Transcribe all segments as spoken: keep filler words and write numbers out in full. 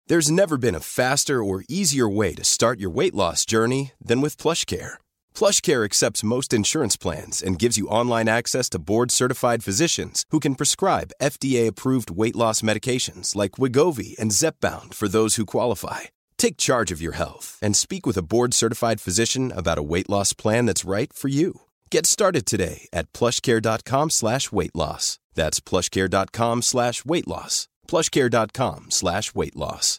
There's never been a faster or easier way to start your weight loss journey than with PlushCare. PlushCare accepts most insurance plans and gives you online access to board-certified physicians who can prescribe F D A-approved weight loss medications like Wegovy and Zepbound for those who qualify. Take charge of your health and speak with a board-certified physician about a weight loss plan that's right for you. Get started today at plushcare.com slash weight loss. That's plushcare.com slash weight loss. plushcare.com slash weight loss.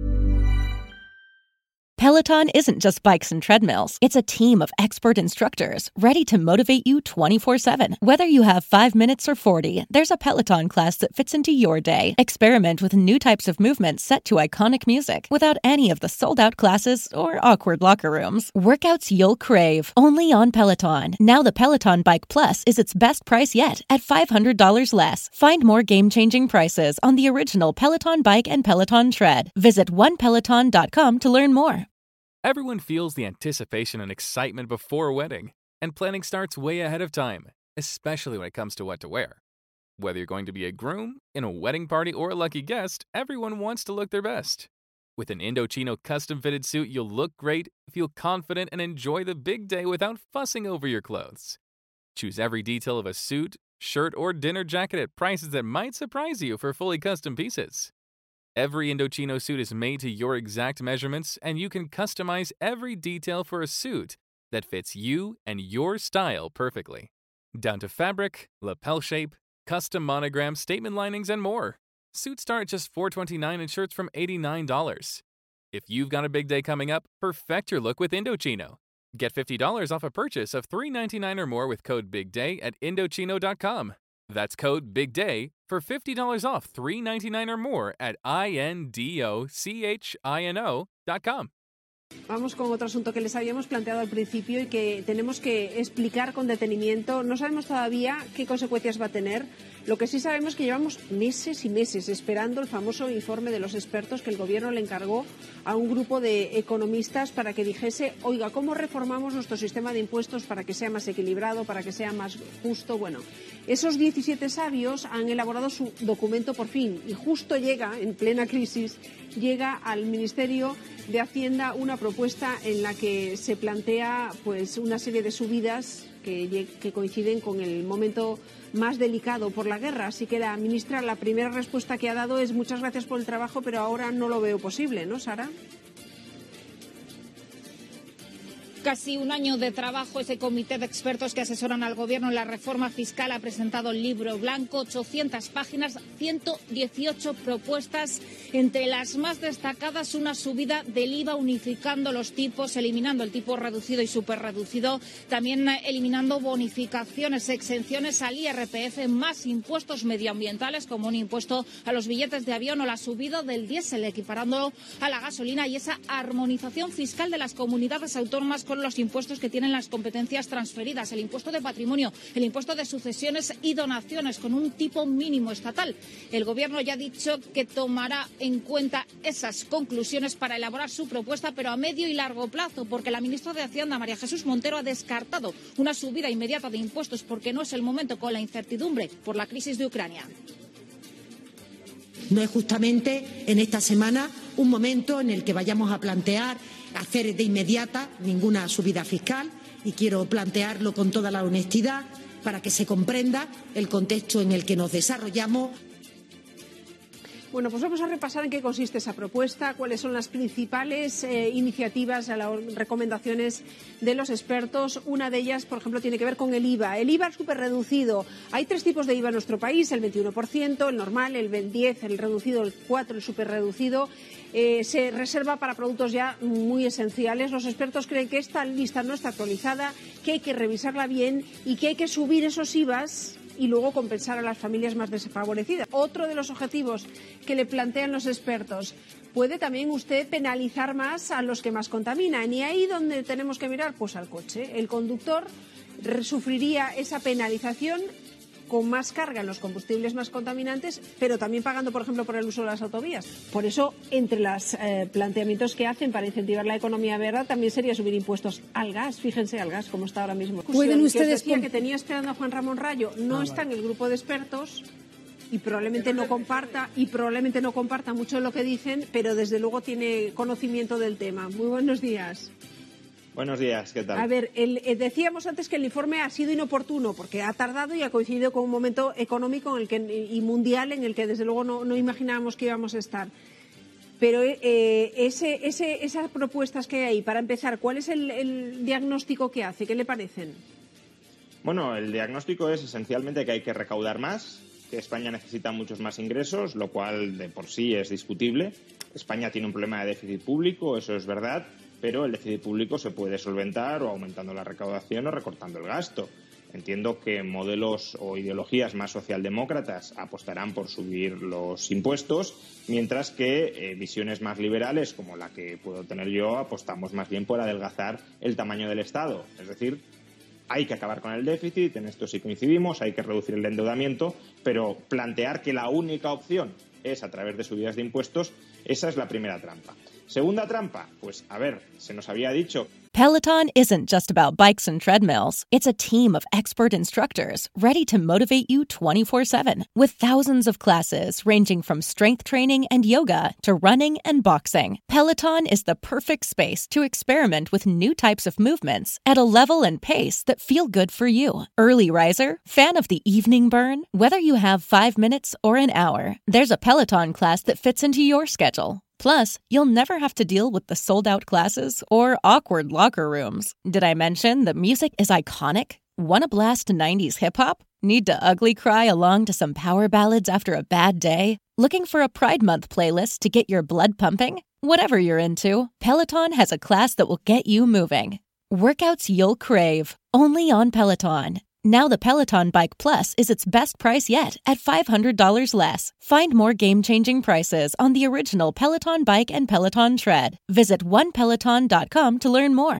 Peloton isn't just bikes and treadmills. It's a team of expert instructors ready to motivate you twenty-four seven. Whether you have five minutes or forty, there's a Peloton class that fits into your day. Experiment with new types of movements set to iconic music without any of the sold-out classes or awkward locker rooms. Workouts you'll crave, only on Peloton. Now the Peloton Bike Plus is its best price yet at five hundred dollars less. Find more game-changing prices on the original Peloton Bike and Peloton Tread. Visit one peloton dot com to learn more. Everyone feels the anticipation and excitement before a wedding, and planning starts way ahead of time, especially when it comes to what to wear. Whether you're going to be a groom, in a wedding party, or a lucky guest, everyone wants to look their best. With an Indochino custom-fitted suit, you'll look great, feel confident, and enjoy the big day without fussing over your clothes. Choose every detail of a suit, shirt, or dinner jacket at prices that might surprise you for fully custom pieces. Every Indochino suit is made to your exact measurements, and you can customize every detail for a suit that fits you and your style perfectly. Down to fabric, lapel shape, custom monogram, statement linings, and more. Suits start at just four dollars and twenty-nine cents and shirts from eighty-nine dollars. If you've got a big day coming up, perfect your look with Indochino. Get fifty dollars off a purchase of three dollars and ninety-nine cents or more with code BIGDAY at Indochino dot com. That's code BIGDAY for fifty dollars off three dollars and ninety-nine cents or more at I N D O C H I N O dot com. Vamos con otro asunto que les habíamos planteado al principio y que tenemos que explicar con detenimiento. No sabemos todavía qué consecuencias va a tener. Lo que sí sabemos es que llevamos meses y meses esperando el famoso informe de los expertos que el Gobierno le encargó a un grupo de economistas para que dijese, oiga, ¿cómo reformamos nuestro sistema de impuestos para que sea más equilibrado, para que sea más justo? Bueno, esos diecisiete sabios han elaborado su documento por fin y justo llega, en plena crisis, llega al Ministerio de Hacienda una propuesta en la que se plantea pues una serie de subidas que, que coinciden con el momento más delicado por la guerra. Así que la ministra, la primera respuesta que ha dado es muchas gracias por el trabajo, pero ahora no lo veo posible, ¿no, Sara? Casi un año de trabajo, ese comité de expertos que asesoran al Gobierno en la reforma fiscal ha presentado el libro blanco, ochocientas páginas, ciento dieciocho propuestas, entre las más destacadas una subida del I V A unificando los tipos, eliminando el tipo reducido y superreducido, también eliminando bonificaciones, exenciones al I R P F, más impuestos medioambientales como un impuesto a los billetes de avión o la subida del diésel, equiparándolo a la gasolina, y esa armonización fiscal de las comunidades autónomas con los impuestos que tienen las competencias transferidas, el impuesto de patrimonio, el impuesto de sucesiones y donaciones con un tipo mínimo estatal. El Gobierno ya ha dicho que tomará en cuenta esas conclusiones para elaborar su propuesta, pero a medio y largo plazo, porque la ministra de Hacienda, María Jesús Montero, ha descartado una subida inmediata de impuestos porque no es el momento con la incertidumbre por la crisis de Ucrania. No es justamente en esta semana un momento en el que vayamos a plantear hacer de inmediata ninguna subida fiscal, y quiero plantearlo con toda la honestidad para que se comprenda el contexto en el que nos desarrollamos. Bueno, pues vamos a repasar en qué consiste esa propuesta, cuáles son las principales eh, iniciativas, las recomendaciones de los expertos. Una de ellas, por ejemplo, tiene que ver con el I V A. El I V A súper reducido. Hay tres tipos de I V A en nuestro país, el veintiuno por ciento, el normal, el diez por ciento, el reducido, el cuatro por ciento, el súper reducido. Eh, se reserva para productos ya muy esenciales. Los expertos creen que esta lista no está actualizada, que hay que revisarla bien y que hay que subir esos I V As y luego compensar a las familias más desfavorecidas. Otro de los objetivos que le plantean los expertos: puede también usted penalizar más a los que más contaminan, y ahí donde tenemos que mirar, pues al coche. El conductor sufriría esa penalización con más carga en los combustibles más contaminantes, pero también pagando, por ejemplo, por el uso de las autovías. Por eso, entre los eh, planteamientos que hacen para incentivar la economía verde, también sería subir impuestos al gas. Fíjense, al gas, como está ahora mismo. ¿Pueden ustedes que, decía que tenía esperando a Juan Ramón Rayo, no ah, está vale. en el grupo de expertos, y probablemente no comparta y probablemente no comparta mucho de lo que dicen, pero desde luego tiene conocimiento del tema. Muy buenos días. Buenos días, ¿qué tal? A ver, el, eh, decíamos antes que el informe ha sido inoportuno porque ha tardado y ha coincidido con un momento económico en el que, y mundial en el que desde luego no, no imaginábamos que íbamos a estar. Pero eh, ese, ese, esas propuestas que hay ahí, para empezar, ¿cuál es el, el diagnóstico que hace? ¿Qué le parecen? Bueno, el diagnóstico es esencialmente que hay que recaudar más, que España necesita muchos más ingresos, lo cual de por sí es discutible. España tiene un problema de déficit público, eso es verdad, pero el déficit público se puede solventar o aumentando la recaudación o recortando el gasto. Entiendo que modelos o ideologías más socialdemócratas apostarán por subir los impuestos, mientras que eh, visiones más liberales, como la que puedo tener yo, apostamos más bien por adelgazar el tamaño del Estado. Es decir, hay que acabar con el déficit, en esto sí coincidimos, hay que reducir el endeudamiento, pero plantear que la única opción es a través de subidas de impuestos, esa es la primera trampa. Segunda trampa, pues a ver, se nos había dicho... Peloton isn't just about bikes and treadmills. It's a team of expert instructors ready to motivate you twenty-four seven. With thousands of classes ranging from strength training and yoga to running and boxing, Peloton is the perfect space to experiment with new types of movements at a level and pace that feel good for you. Early riser? Fan of the evening burn? Whether you have five minutes or an hour, there's a Peloton class that fits into your schedule. Plus, you'll never have to deal with the sold-out classes or awkward locker rooms. Did I mention that music is iconic? Wanna blast nineties hip-hop? Need to ugly cry along to some power ballads after a bad day? Looking for a Pride Month playlist to get your blood pumping? Whatever you're into, Peloton has a class that will get you moving. Workouts you'll crave, only on Peloton. Now the Peloton Bike Plus is its best price yet at five hundred dollars less. Find more game-changing prices on the original Peloton Bike and Peloton Tread. Visit one peloton dot com to learn more.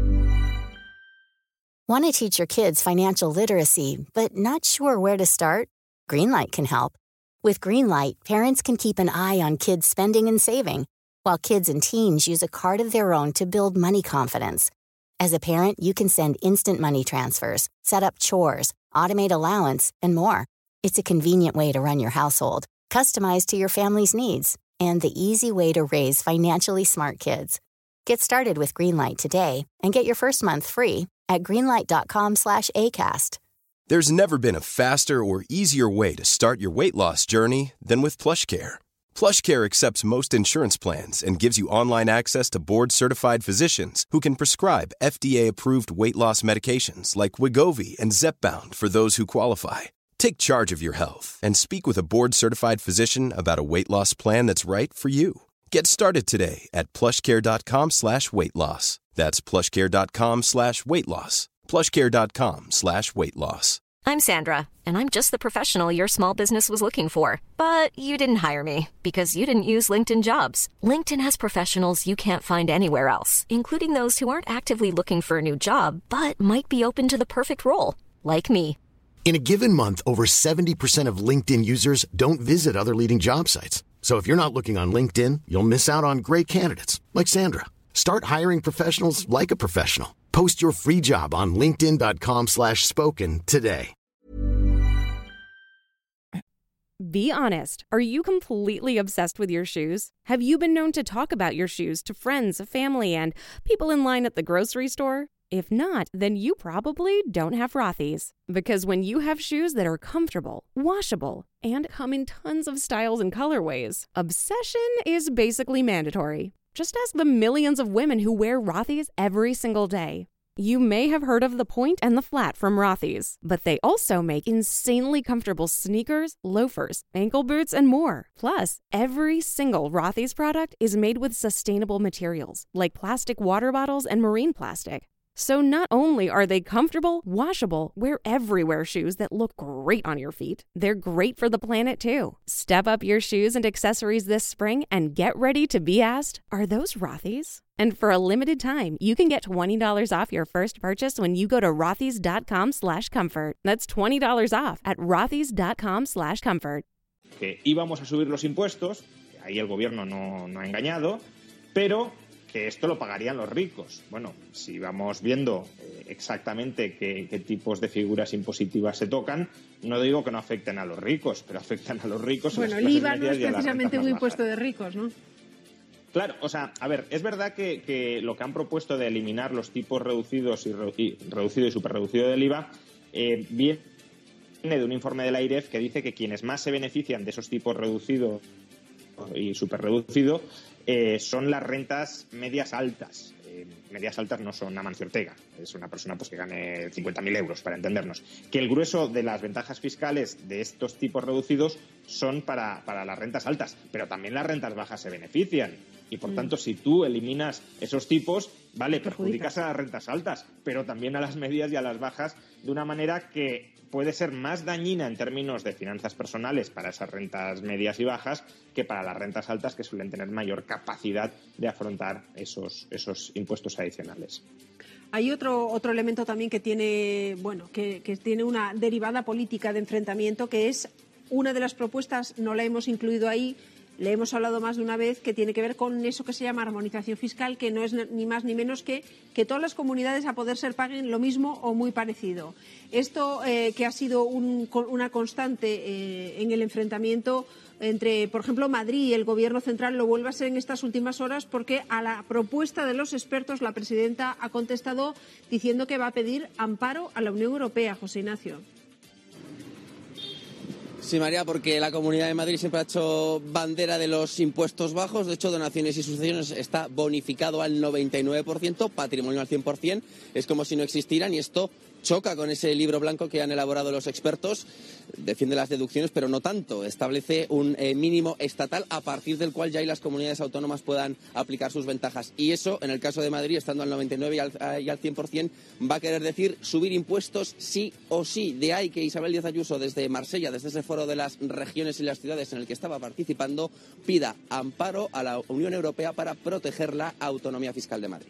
Want to teach your kids financial literacy, but not sure where to start? Greenlight can help. With Greenlight, parents can keep an eye on kids' spending and saving, while kids and teens use a card of their own to build money confidence. As a parent, you can send instant money transfers, set up chores, automate allowance, and more. It's a convenient way to run your household, customized to your family's needs, and the easy way to raise financially smart kids. Get started with Greenlight today and get your first month free at greenlight.com slash ACAST. There's never been a faster or easier way to start your weight loss journey than with PlushCare. PlushCare accepts most insurance plans and gives you online access to board-certified physicians who can prescribe F D A-approved weight loss medications like Wegovy and Zepbound for those who qualify. Take charge of your health and speak with a board-certified physician about a weight loss plan that's right for you. Get started today at plushcare.com slash weight loss. That's plushcare.com slash weight loss. plushcare.com slash weight loss. I'm Sandra, and I'm just the professional your small business was looking for. But you didn't hire me because you didn't use LinkedIn Jobs. LinkedIn has professionals you can't find anywhere else, including those who aren't actively looking for a new job, but might be open to the perfect role, like me. In a given month, over seventy percent of LinkedIn users don't visit other leading job sites. So if you're not looking on LinkedIn, you'll miss out on great candidates, like Sandra. Start hiring professionals like a professional. Post your free job on linkedin.com slash spoken today. Be honest. Are you completely obsessed with your shoes? Have you been known to talk about your shoes to friends, family, and people in line at the grocery store? If not, then you probably don't have Rothy's. Because when you have shoes that are comfortable, washable, and come in tons of styles and colorways, obsession is basically mandatory. Just ask the millions of women who wear Rothy's every single day. You may have heard of the Point and the Flat from Rothy's, but they also make insanely comfortable sneakers, loafers, ankle boots, and more. Plus, every single Rothy's product is made with sustainable materials, like plastic water bottles and marine plastic. So not only are they comfortable, washable, wear everywhere shoes that look great on your feet, they're great for the planet too. Step up your shoes and accessories this spring and get ready to be asked, are those Rothy's? And for a limited time, you can get twenty dollars off your first purchase when you go to rothys.com slash comfort. That's twenty dollars off at rothys.com slash comfort. Que íbamos a subir los impuestos, ahí el gobierno no, no ha engañado, pero que esto lo pagarían los ricos. Bueno, si vamos viendo eh, exactamente qué, qué tipos de figuras impositivas se tocan, no digo que no afecten a los ricos, pero afectan a los ricos. Bueno, el I V A no es precisamente un impuesto de ricos, ¿no? Claro, o sea, a ver, es verdad que, que lo que han propuesto de eliminar los tipos reducidos y, re, y reducido y superreducido del I V A eh, viene de un informe de la I R E F que dice que quienes más se benefician de esos tipos reducidos y superreducido eh, son las rentas medias altas. Eh, medias altas no son Amancio Ortega, es una persona pues que gane cincuenta mil euros, para entendernos. Que el grueso de las ventajas fiscales de estos tipos reducidos son para, para las rentas altas, pero también las rentas bajas se benefician. Y, por mm. tanto, si tú eliminas esos tipos, vale, perjudicas a las rentas altas, pero también a las medias y a las bajas de una manera que puede ser más dañina en términos de finanzas personales para esas rentas medias y bajas que para las rentas altas, que suelen tener mayor capacidad de afrontar esos, esos impuestos adicionales. Hay otro otro elemento también que tiene, bueno, que, que tiene una derivada política de enfrentamiento, que es una de las propuestas, no la hemos incluido ahí, le hemos hablado más de una vez, que tiene que ver con eso que se llama armonización fiscal, que no es ni más ni menos que que todas las comunidades a poder ser paguen lo mismo o muy parecido. Esto eh, que ha sido un, una constante eh, en el enfrentamiento entre, por ejemplo, Madrid y el Gobierno central, lo vuelve a ser en estas últimas horas, porque a la propuesta de los expertos la presidenta ha contestado diciendo que va a pedir amparo a la Unión Europea. José Ignacio. Sí, María, porque la Comunidad de Madrid siempre ha hecho bandera de los impuestos bajos. De hecho, donaciones y sucesiones está bonificado al noventa y nueve por ciento, patrimonio al cien por ciento. Es como si no existieran, y esto choca con ese libro blanco que han elaborado los expertos. Defiende las deducciones, pero no tanto. Establece un eh, mínimo estatal a partir del cual ya y las comunidades autónomas puedan aplicar sus ventajas. Y eso, en el caso de Madrid, estando al noventa y nueve por ciento y al, y al cien por ciento, va a querer decir subir impuestos sí o sí. De ahí que Isabel Díaz Ayuso, desde Marsella, desde ese foro de las regiones y las ciudades en el que estaba participando, pida amparo a la Unión Europea para proteger la autonomía fiscal de Madrid.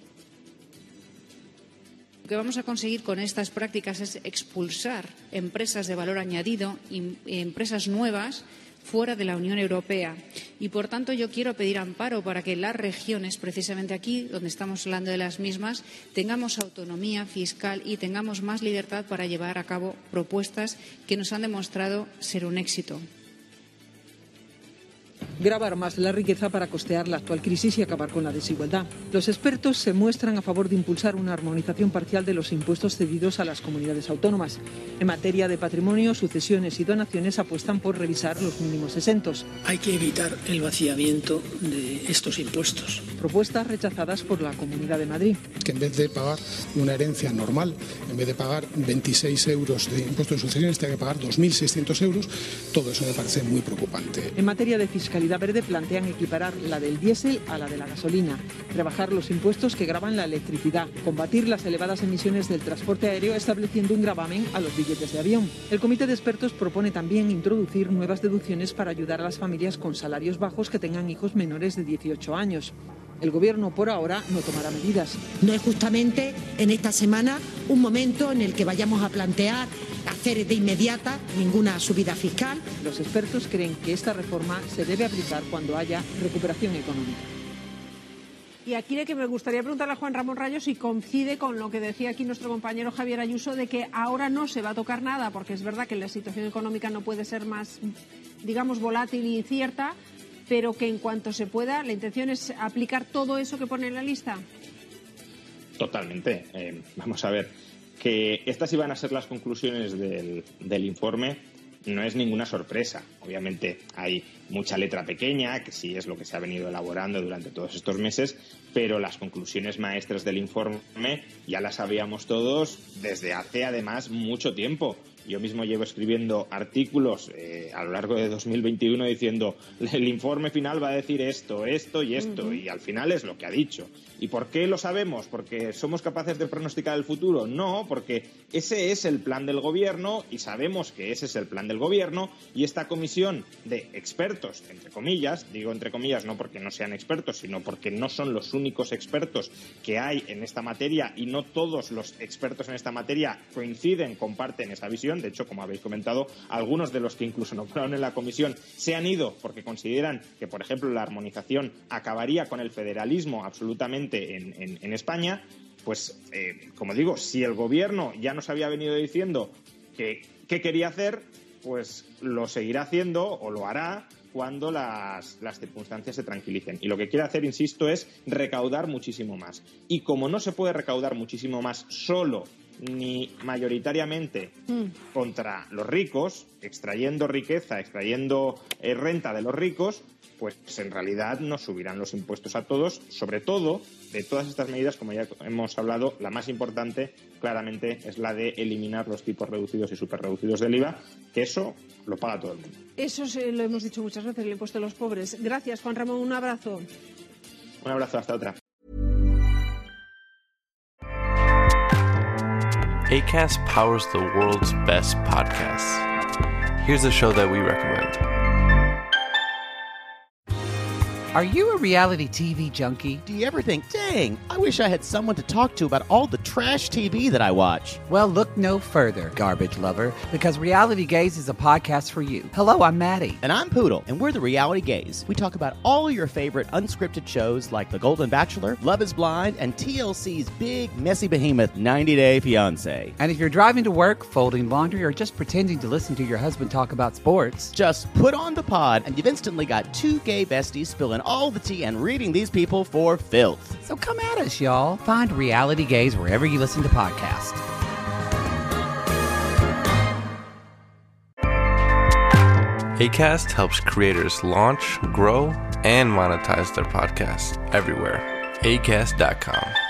Lo que vamos a conseguir con estas prácticas es expulsar empresas de valor añadido y empresas nuevas fuera de la Unión Europea. Y, por tanto, yo quiero pedir amparo para que las regiones, precisamente aquí, donde estamos hablando de las mismas, tengamos autonomía fiscal y tengamos más libertad para llevar a cabo propuestas que nos han demostrado ser un éxito. Gravar más la riqueza para costear la actual crisis y acabar con la desigualdad. Los expertos se muestran a favor de impulsar una armonización parcial de los impuestos cedidos a las comunidades autónomas. En materia de patrimonio, sucesiones y donaciones apuestan por revisar los mínimos exentos. Hay que evitar el vaciamiento de estos impuestos. Propuestas rechazadas por la Comunidad de Madrid. Que en vez de pagar una herencia normal, en vez de pagar veintiséis euros de impuestos de sucesiones, tenga que pagar dos mil seiscientos euros. Todo eso me parece muy preocupante. En materia de fiscalidad verde plantean equiparar la del diésel a la de la gasolina, rebajar los impuestos que gravan la electricidad, combatir las elevadas emisiones del transporte aéreo estableciendo un gravamen a los billetes de avión. El comité de expertos propone también introducir nuevas deducciones para ayudar a las familias con salarios bajos que tengan hijos menores de dieciocho años. El Gobierno, por ahora, no tomará medidas. No es justamente en esta semana un momento en el que vayamos a plantear hacer de inmediata ninguna subida fiscal. Los expertos creen que esta reforma se debe aplicar cuando haya recuperación económica. Y aquí de que me gustaría preguntarle a Juan Ramón Rayo si coincide con lo que decía aquí nuestro compañero Javier Ayuso, de que ahora no se va a tocar nada, porque es verdad que la situación económica no puede ser más, digamos, volátil e incierta, pero que en cuanto se pueda, la intención es aplicar todo eso que pone en la lista. Totalmente. Eh, vamos a ver, que estas iban a ser las conclusiones del, del informe no es ninguna sorpresa. Obviamente hay mucha letra pequeña, que sí es lo que se ha venido elaborando durante todos estos meses, pero las conclusiones maestras del informe ya las sabíamos todos desde hace además mucho tiempo. Yo mismo llevo escribiendo artículos eh, a lo largo de dos mil veintiuno diciendo el informe final va a decir esto, esto y esto, uh-huh. y al final es lo que ha dicho. ¿Y por qué lo sabemos? ¿Porque somos capaces de pronosticar el futuro? No, porque ese es el plan del Gobierno y sabemos que ese es el plan del Gobierno, y esta comisión de expertos, entre comillas, digo entre comillas no porque no sean expertos, sino porque no son los únicos expertos que hay en esta materia y no todos los expertos en esta materia coinciden, comparten esa visión. comisión. De hecho, como habéis comentado, algunos de los que incluso nombraron en la comisión se han ido porque consideran que, por ejemplo, la armonización acabaría con el federalismo absolutamente en, en, en España. Pues, eh, como digo, si el gobierno ya nos había venido diciendo que qué quería hacer, pues lo seguirá haciendo o lo hará cuando las, las circunstancias se tranquilicen. Y lo que quiere hacer, insisto, es recaudar muchísimo más. Y como no se puede recaudar muchísimo más solo ni mayoritariamente mm. contra los ricos, extrayendo riqueza, extrayendo eh, renta de los ricos, pues en realidad nos subirán los impuestos a todos. Sobre todo, de todas estas medidas, como ya hemos hablado, la más importante claramente es la de eliminar los tipos reducidos y superreducidos del I V A, que eso lo paga todo el mundo. Eso se lo hemos dicho muchas veces, el impuesto a los pobres. Gracias, Juan Ramón, un abrazo. Un abrazo, hasta otra. Acast powers the world's best podcasts. Here's a show that we recommend. Are you a reality T V junkie? Do you ever think, dang, I wish I had someone to talk to about all the trash T V that I watch? Well, look no further, garbage lover, because Reality Gaze is a podcast for you. Hello, I'm Maddie. And I'm Poodle, and we're the Reality Gaze. We talk about all your favorite unscripted shows like The Golden Bachelor, Love is Blind, and T L C's big, messy behemoth, ninety day fiancé. And if you're driving to work, folding laundry, or just pretending to listen to your husband talk about sports, just put on the pod, and you've instantly got two gay besties spilling all the tea and reading these people for filth. So come at us, y'all. Find Reality Gaze wherever you listen to podcasts. Acast helps creators launch, grow, and monetize their podcasts everywhere. Acast dot com.